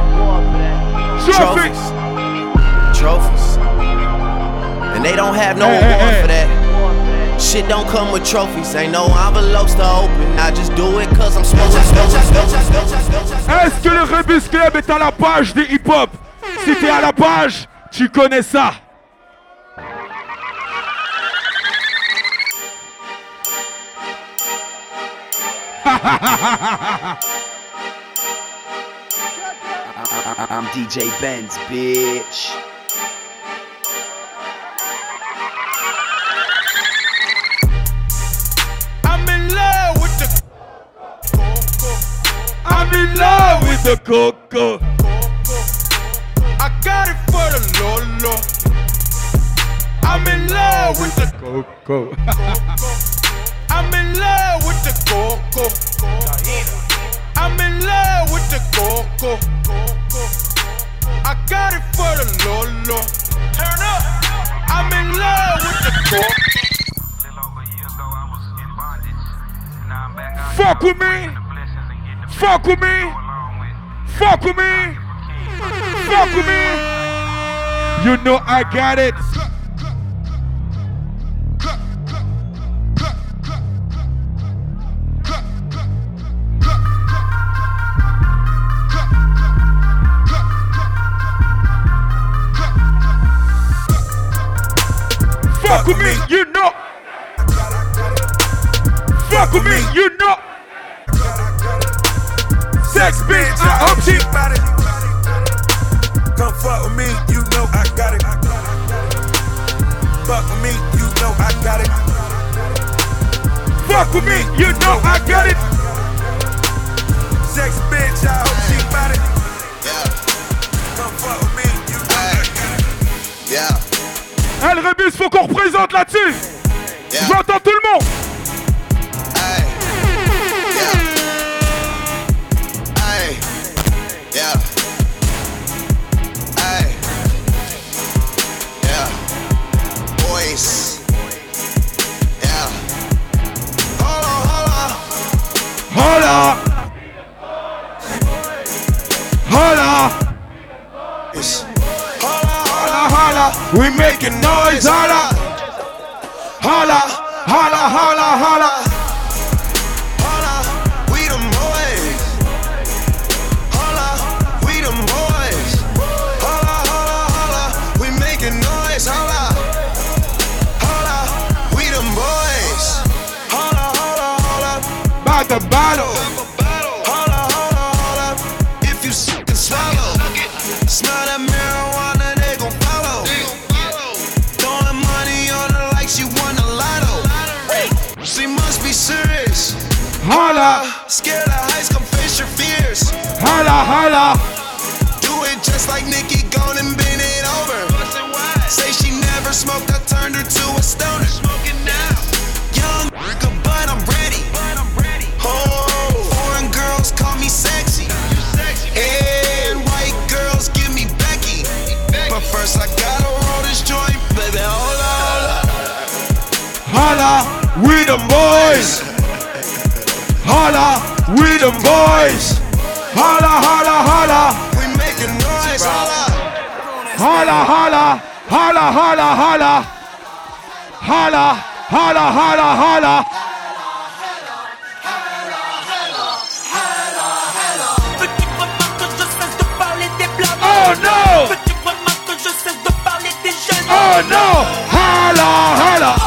Trophies. And they don't have no award for that. Shit don't come with trophies, ain't no envelopes to open. I just do it cause I'm smoking. Est-ce que le Rebus Club est à la page des hip-hop? Si t'es à la page, tu connais ça. I'm DJ Benz, bitch. I'm in love with the I'm in love with the coco. I got it for the Lolo. I'm in love with the coco. I'm in love with the coco. I'm in love with the coco. I got it for the Lolo. Turn up. I'm in love with the coco. Fuck with me. Fuck with me. Fuck with me. Fuck with me. You know I got it. Fuck with me, you know. Fuck with me, you know. Sex bitch, I hope she got it. Come fuck with me, you know I got it. Fuck with me, you know I got it. Fuck with me, you know I got it. Sex bitch, I hope she got it. Come fuck with me, you know I got it. Yeah. Elle Rebus, faut qu'on représente là-dessus. J'entends tout le monde. Holla! Holla! It's holla, holla, we making noise, holla! Holla, holla, holla, holla! Holla, we them boys! Holla, we them boys! Holla, holla, holla, we making noise, holla! Holla, we them boys! Holla, holla, holla! By the battle! Holla, holla, holla! If you suck and swallow, smell that marijuana, they gon' follow. Throwing money on her like she won a lotto. She must be serious. Holla! Scared of heights, come face your fears. Holla, holla! Do it just like Nicki, gone and bend it over. Say she never smoked, I turned her to a stoner. Smoking now. Young, but I'm ready. Oh, foreign girls call me sexy. And white girls give me Becky. But first I gotta roll this joint, baby. Hold on. Holla, we the boys. holla, we the boys. Holla, holla, holla. We making noise, holla. Holla, holla, holla, holla, holla. Holla, holla, holla, holla. Veux-tu vraiment que je cesse de parler des blancs? Oh no! Veux-tu vraiment que je cesse de parler des jeunes? Oh no! Holla, holla.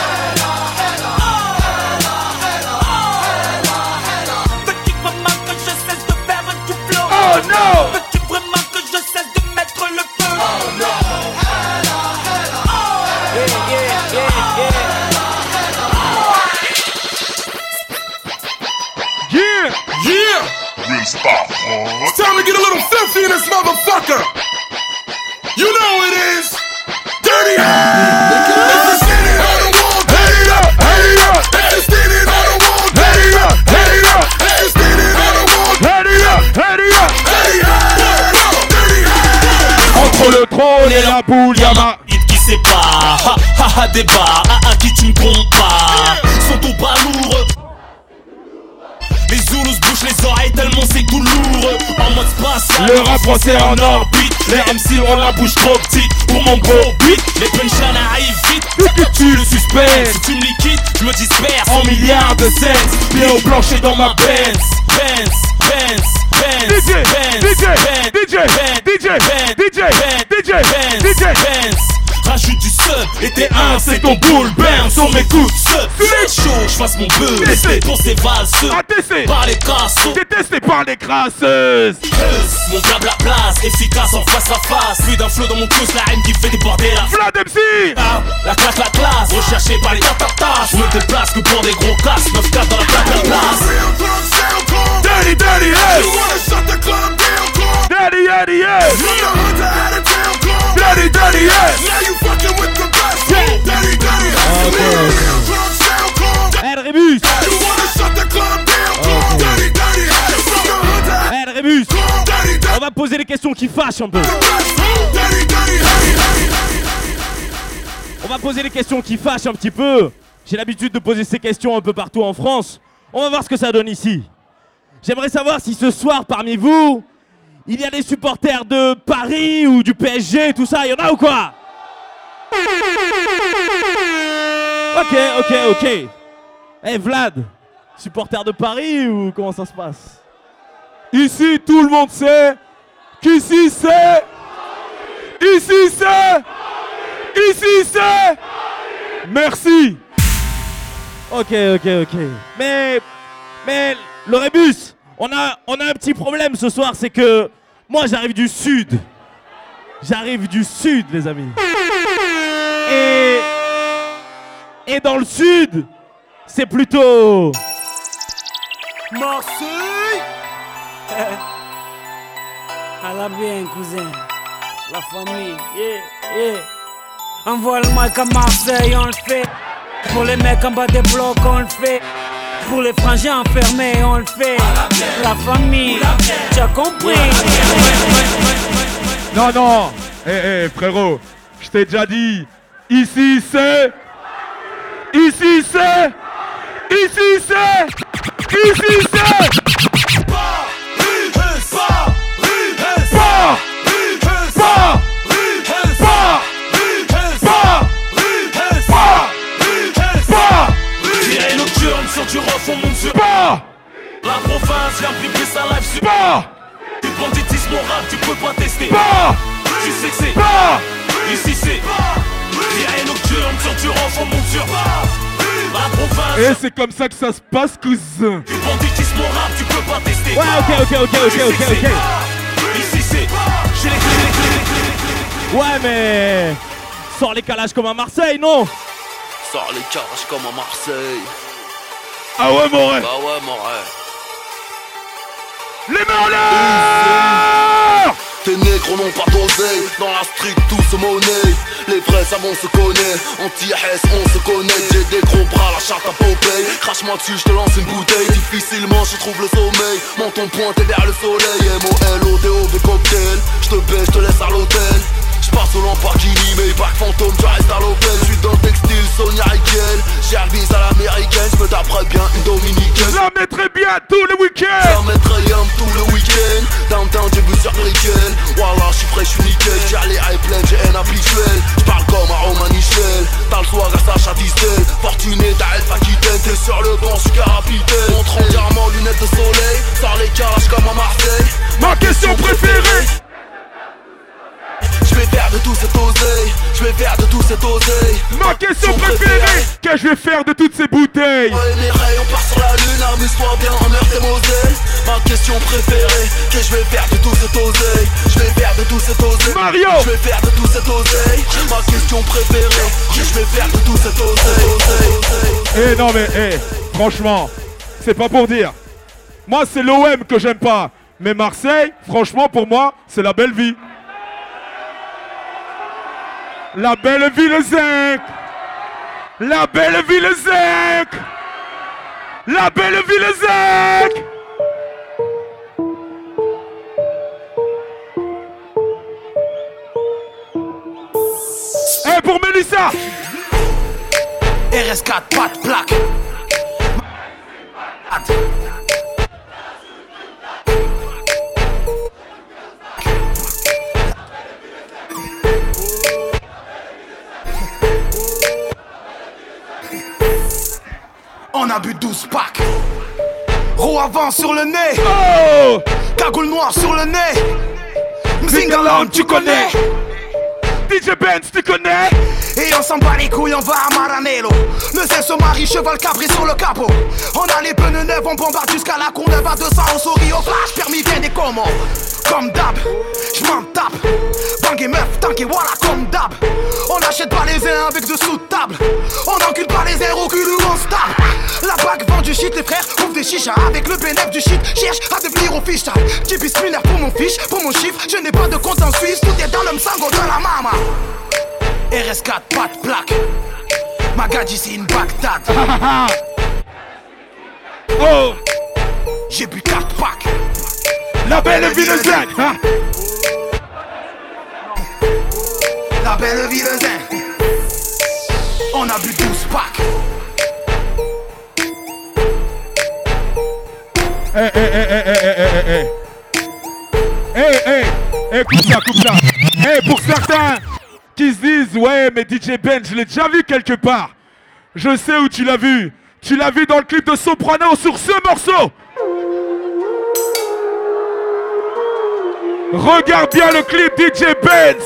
Veux-tu vraiment que je cesse de faire du flow? Oh no! Veux-tu vraiment que je cesse de mettre le feu? Oh no! Yeah! Yeah! Real spot. It's time to get a little filthy in this motherfucker. You know it is. Dirty. If you're standing on the wall, Head it up, head it up. if you're standing on the wall, Head it up, head it up. if you're standing on the wall, Head it up, head it up. dirty. Entre le trône et la boule, y'a Hit qui sépare, ha ha ha débat, à qui tu me comptes pas. Sont au bras lourd. Les Zoulous bouchent les oreilles tellement c'est tout lourd. En mode spatial, le rap français en orbite. les MC ont la bouche trop petite pour mon gros beat. Les punchlines arrivent vite, Vu que tu le suspectes si tu me liquides, je me disperse en milliards de cents. Pieds au plancher dans ma Benz. DJ, DJ, DJ, DJ, DJ, DJ, DJ. Rajoute du sub et t'es un, c'est ton boule burn. On m'écoute sub, c'est chaud, j'fasse mon buzz. Testé. Pour ces valseux, Attesté, par les cassos. détesté par les crasseuses. Mon blabla place, efficace en face à face. Plus d'un flow dans mon cul, la haine qui fait déborder la Vlad MC. Ah, la classe, recherché par les tatatas. Je me déplace que pour des gros casses, 9-4 dans la place. Dirty, dirty, yes. Dirty, dirty, yes. Dirty, dirty, yes. Hey, Rébus. Hey, Rébus. On va poser des questions qui fâchent un peu. On va poser des questions qui fâchent un petit peu. J'ai l'habitude de poser ces questions un peu partout en France. On va voir ce que ça donne ici. J'aimerais savoir si ce soir, parmi vous, il y a des supporters de Paris ou du PSG, tout ça. Il y en a ou quoi? Ok. Hey Vlad, supporter de Paris ou comment ça se passe? Ici, tout le monde sait qu'ici c'est... Ici c'est... Ici c'est... Merci. Ok. Mais le Rébus, on a un petit problème ce soir, c'est que moi j'arrive du sud. J'arrive du sud, les amis. Et dans le sud, c'est plutôt... Marseille. À la bien, cousin. La famille, yeah. Envoie le mic à Marseille, on le fait. Pour les mecs en bas des blocs, on le fait. Pour les frangins enfermés, on le fait. La famille, tu as compris. Non. Frérot, je t'ai déjà dit. Ici c'est... Sur du ref, on monte sur Pas. la province, viens piquer sa live sur Pas. du banditisme au rap, tu peux pas tester. Pas. Tu sais que c'est Pas. ici c'est virée nocturne, sur du ref, on monte sur la province. Et c'est comme ça que ça se passe, cousin. Du banditisme au rap, tu peux pas tester. Ouais, ok. Ici c'est j'ai les clés. Ouais, mais... Sors les calages comme à Marseille, non? Sors les calages comme à Marseille. Ah ouais, mon rêve. Bah ouais, mon rêve. Les mains en l'air. Tes négros n'ont pas d'oseille, dans la street tout se monnaie. Les vrais savants se connaissent, anti-S on se connaît. J'ai des gros bras, la charte à Popeye. Crache-moi dessus, je te lance une bouteille. Difficilement je trouve le sommeil, menton pointé vers le soleil. M-O-L-O-D-O-V cocktail, je te baisse, je te laisse à l'hôtel. J'passe au Lamborghini, Maybach fantôme, tu restes à l'hôtel. J'suis dans le textile, Sonia Riquel. J'ai Hervis à l'américaine, j'me taperais bien une dominicaine. La maîtresse mettrai bien tout le week-end. Ça mettrait yam tout le week-end. Downtown, j'ai vu sur Nickel. Voilà, je suis frais, je suis nickel. J'ai les high plein, j'ai un habituel. J'parle comme à Roman Michel. T'as le soir à Sacha Distel. Fortuné, t'as Elf Aquitaine. T'es sur le banc, j'suis capitaine. Montre en diamant, lunettes de soleil. Sors les calages comme à Marseille. Ma question préférée. Je vais faire de tout cet oseille. Je vais faire de tout cet oseille. Ma question préférée. Qu'est-ce que je vais faire de toutes ces bouteilles? Ouais, mes rayons part sur la lune. Amuse-toi bien en meurtre et Moselle. Ma question préférée. Qu'est-ce que je vais faire de tout cet oseille? Je vais faire de tout cet oseille. Mario. Je vais faire de tout cet oseille. Ma question préférée. Qu'est-ce que je vais faire de tout cet oseille? Eh non mais franchement, c'est pas pour dire. Moi c'est l'OM que j'aime pas. Mais Marseille, franchement pour moi, c'est la belle vie. La belle ville zinc. La belle ville zinc. La belle ville zinc. Eh pour Mélissa. RS4, pas de plaque. On a bu 12 packs. Roue avant sur le nez. Oh, cagoule noire sur le nez. Mzingaland, tu connais. DJ Benz, tu connais. Et on s'en bat les couilles, on va à Maranello. Le zin se marie, cheval cabré sur le capot. On a les pneus neufs, on bombarde jusqu'à la Courneuve à 200, on sourit au flash, permis bien des commandes. Comme d'hab, j'm'en tape. Bang et meuf, tank et voilà comme d'hab. On achète pas les uns avec de sous de table. On encule pas les uns au cul où on se tape. La bague vend du shit, les frères ouvrent des chichas. Avec le bénéf du shit, cherche à devenir official. J'ai bisminaire pour mon fiche, pour mon chiffre. Je n'ai pas de compte en Suisse, tout est dans le msango de la mama. RS4, pas de plaque. Magadji, c'est une Bagdad. Oh, j'ai bu 4 packs. La belle ville zen. La belle ville zen. On a bu 12 packs. Coupe ça. Pour certains qui se disent, ouais, mais DJ Ben, je l'ai déjà vu quelque part. Je sais où tu l'as vu. Tu l'as vu dans le clip de Soprano sur ce morceau. Regarde bien le clip DJ Benz.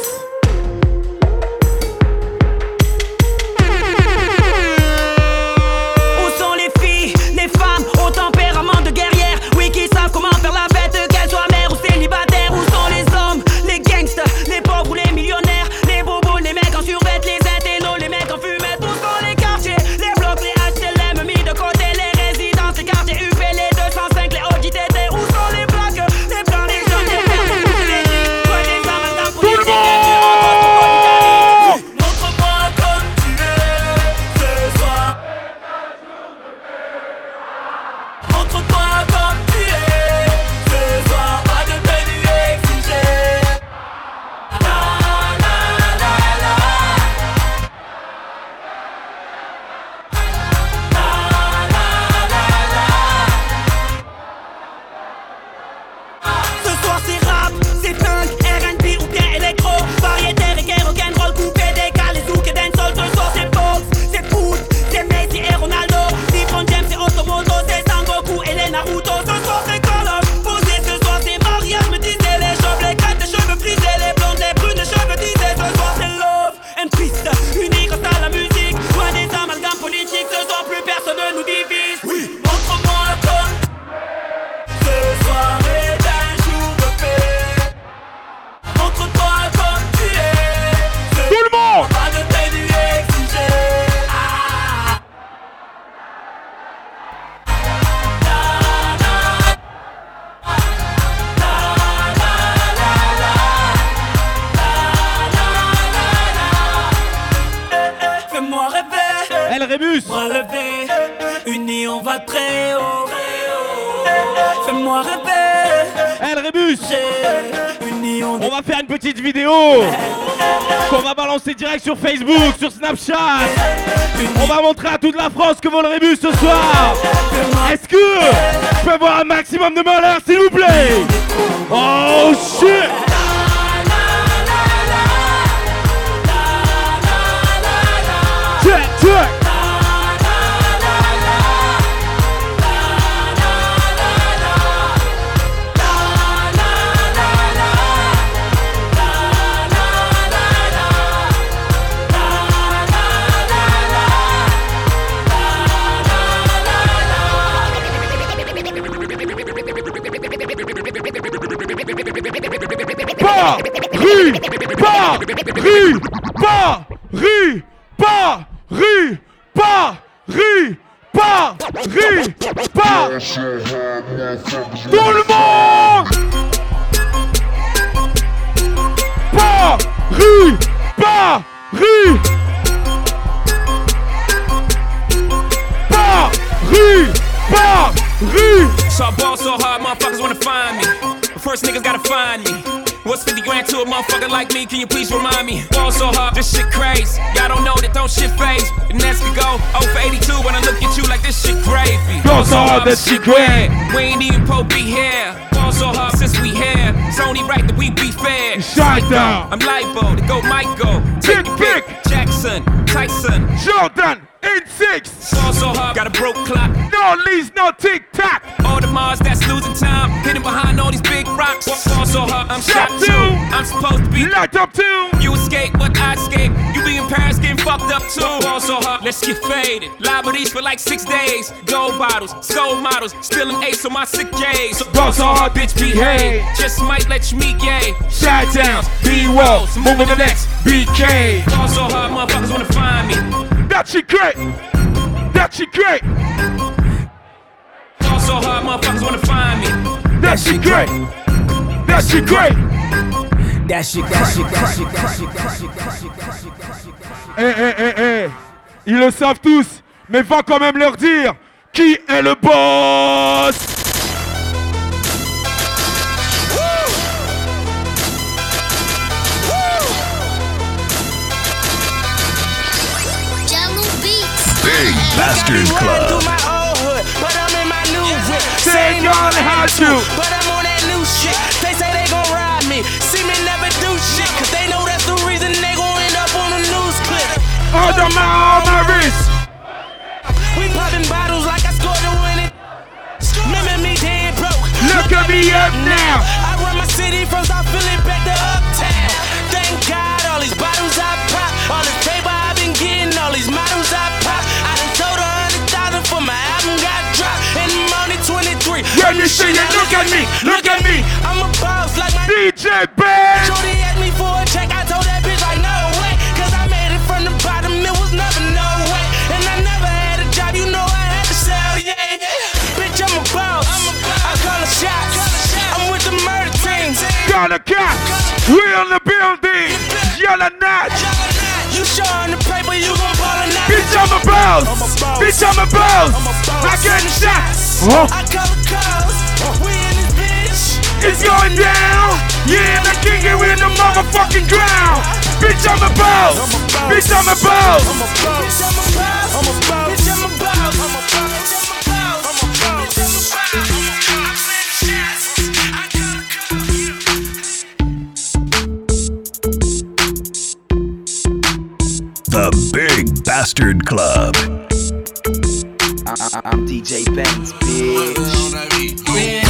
Où sont les filles, les femmes au tempérament de guerrière? Oui, qui savent comment faire la fête, qu'elles soient mères ou célibataires. Où sont les hommes, les gangsters, les pauvres ou les millionnaires? Les bobos, les mecs en survêt, les intellos, les mecs en fumette. Où sont les quartiers, les blocs, les HLM mis de côté? Les résidences, les quartiers UP, les 205, les OJTT. Où sont les plaques, les blancs, les jaunes, les verts, les rouges, les gris? Quoi des amalgames pour les Montre-moi comme tu es ce soir. Montre-toi comme tu es ce soir. Pas de tenue exigée. La la la la. Ce soir c'est rap, c'est funk, R&B ou bien électro. Variété, reggae, rock'n'roll, coupé, décalé, zouk et dancehall. Ce soir c'est box, c'est foot, c'est Messi et Ronaldo. LeBron James et Automoto, c'est Sangoku et les Naruto. Ce soir c'est Call of, posé, ce soir c'est mariage. Me disaient les chauves, les crêtes, les cheveux frisés, les blondes, les brunes, les cheveux disés. Ce soir c'est love and peace, unis grâce à la musique. Loin des amalgames politiques, ce soir plus personne ne nous divise. Oui, montre-moi comme ce soir est un jour de paix. Montre-toi comme tu es. Tout le monde. Pas de tenue exigée. Fais-moi rêver, El Rémus. relever, unis on va très haut. Fais-moi rêver, El Rémus. unis on On va faire une petite vidéo qu'on va balancer direct sur Facebook, sur Snapchat. On va montrer à toute la France que vaut le rébus ce soir. Est-ce que je peux avoir un maximum de malheur s'il vous plaît? Oh shit! Check, check! Tout le monde! So I ball so hard, motherfuckers wanna find me. But first niggas gotta find me. What's 50 grand to a motherfucker like me? Can you please remind me? Ball so hard, this shit crazy. Y'all don't know that don't shit phase. And that's to go 0 for 82 when I look at you like this shit gravy. Ball so hard, that shit great. We ain't even Pope be here. Ball so hard since we here. It's only right that we be fair. Shut down. I'm Libo, to go Michael. Take your pick. Jackson, Tyson, Jordan. 8-6. Ball so hard, got a broke clock. No leads, no tick-tock. All the Mars that's losing time, hidden behind all these big rocks. Ball so hard, I'm shot too. I'm supposed to be locked up too. You escape, but I escape. You be in Paris getting fucked up too. Ball so hard, let's get faded. Liberties for like 6 days. Gold bottles, skull models, spilling ace on my sick days. Ball so hard, bitch, behave. Just might let you meet gay. Shot downs, B-rolls, moving the next BK. Ball so hard, motherfuckers wanna find me. That shit great. That shit great. Ball so hard, motherfuckers wanna find me. That shit great. That shit great. That shit Eh. Ils le savent tous, mais va quand même leur dire qui est le boss. Big Bastard Club. Say gonna have to, but I'm on that new shit. They say they gon' ride me, see me never do shit, cause they know that's the reason they gon' end up on the news clip. On my wrist. We poppin' bottles like I scored to win it. Remember me dead broke. Look at me up now. I run my city from South Philly back to Uptown. Thank God all these bottles I pop, all this paper I've been getting, all these models I pop. I done sold 100,000 for my album got dropped, and I'm only 23. When you see it, look at me, look at me. I'm a boss like my DJ Ben. Shorty asked me for a check, I told that bitch like no way, cause I made it from the bottom, it was never no way. And I never had a job, you know I had to sell, yeah. Bitch, I'm a boss, I call a shot, I'm with the murder team. Got a cat, we on the building, yellow notch. You showing the paper, you gon' ball or not. Bitch, I'm a boss, bitch, I'm a boss. I get shots, I call the calls, we in this bitch. It's going down, yeah, the king is in the motherfucking ground. Bitch, I'm a boss, bitch, I'm a boss. Bitch, I'm a boss, bitch, I'm a boss. The Big Bastard Club. I'm DJ Benz, bitch.